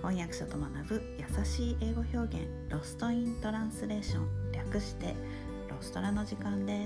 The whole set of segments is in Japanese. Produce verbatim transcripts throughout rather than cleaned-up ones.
翻訳者と学ぶ優しい英語表現、ロストイントランスレーション、略してロストラの時間です。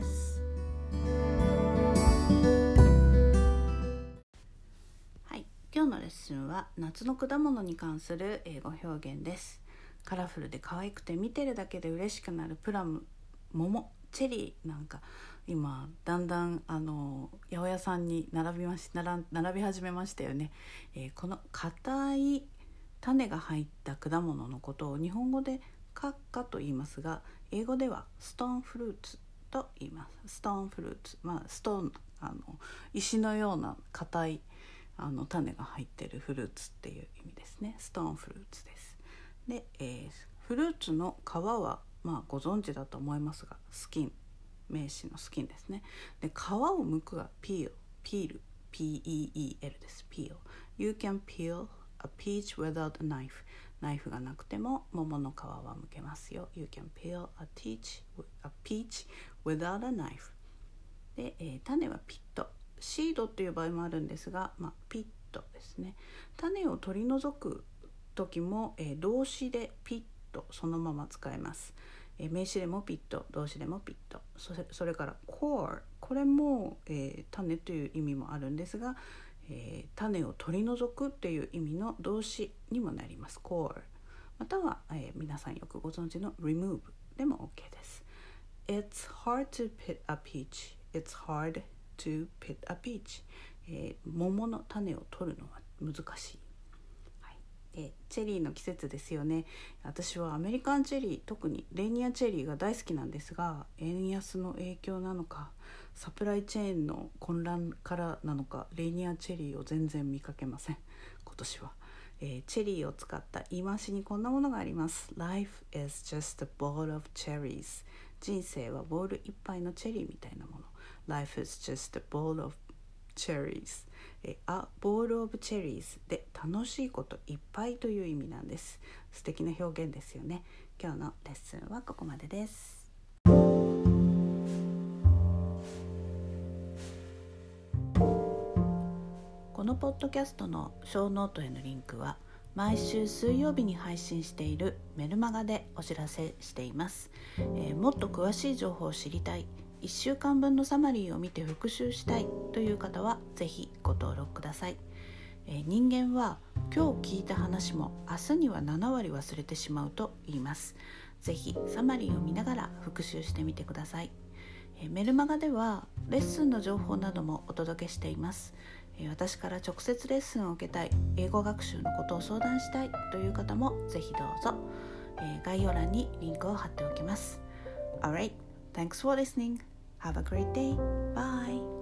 はい、今日のレッスンは夏の果物に関する英語表現です。カラフルで可愛くて見てるだけで嬉しくなるプラム、桃、チェリーなんか今だんだんあの八百屋さんに並びまし並並び始めましたよね。えー、この硬い種が入った果物のことを日本語でカッカと言いますが、英語ではストーンフルーツと言います。ストーンフルーツ、まあストーン、あの石のような硬いあの種が入っているフルーツっていう意味ですね。ストーンフルーツです。で、えー、フルーツの皮はまあご存知だと思いますが、スキン、名詞のスキンですね。で、皮を剥くはピール、ピール、ピーイーイーエル です。ピール。You can peel a peach without a knife。ナイフがなくても桃の皮は剥けますよ。You can peel a peach, a peach without a knife。で、えー、種はピット。シードっていう場合もあるんですが、まあ、ピットですね。種を取り除く時も、えー、動詞でピットそのまま使えます。えー、名詞でもピット、動詞でもピット。それ、それから core、これも、えー、種という意味もあるんですが、えー、種を取り除くっていう意味の動詞にもなります。core または、えー、皆さんよくご存知の remove でも OK です。 It's hard to pick a peach It's hard to pick a peach、えー、桃の種を取るのは難しい。えチェリーの季節ですよね。私はアメリカンチェリー、特にレーニアチェリーが大好きなんですが、円安の影響なのかサプライチェーンの混乱からなのか、レーニアチェリーを全然見かけません今年は。えー、チェリーを使った言い回しにこんなものがあります。 Life is just a bowl of cherries。 人生はボール一杯のチェリーみたいなもの。 Life is just a bowl of cherries。えあボールオブチェリーズで楽しいこといっぱいという意味なんです。素敵な表現ですよね。今日のレッスンはここまでです。このポッドキャストのショーノートへのリンクは毎週水曜日に配信しているメルマガでお知らせしています。えー、もっと詳しい情報を知りたい、いっしゅうかんぶんのサマリーを見て復習したいという方はぜひご登録ください。えー、人間は今日聞いた話も明日にはななわり忘れてしまうと言います。ぜひサマリーを見ながら復習してみてください。えー、メルマガではレッスンの情報などもお届けしています。えー、私から直接レッスンを受けたい、英語学習のことを相談したいという方もぜひどうぞ。えー、概要欄にリンクを貼っておきます。Alright, thanks for listening. Have a great day. Bye.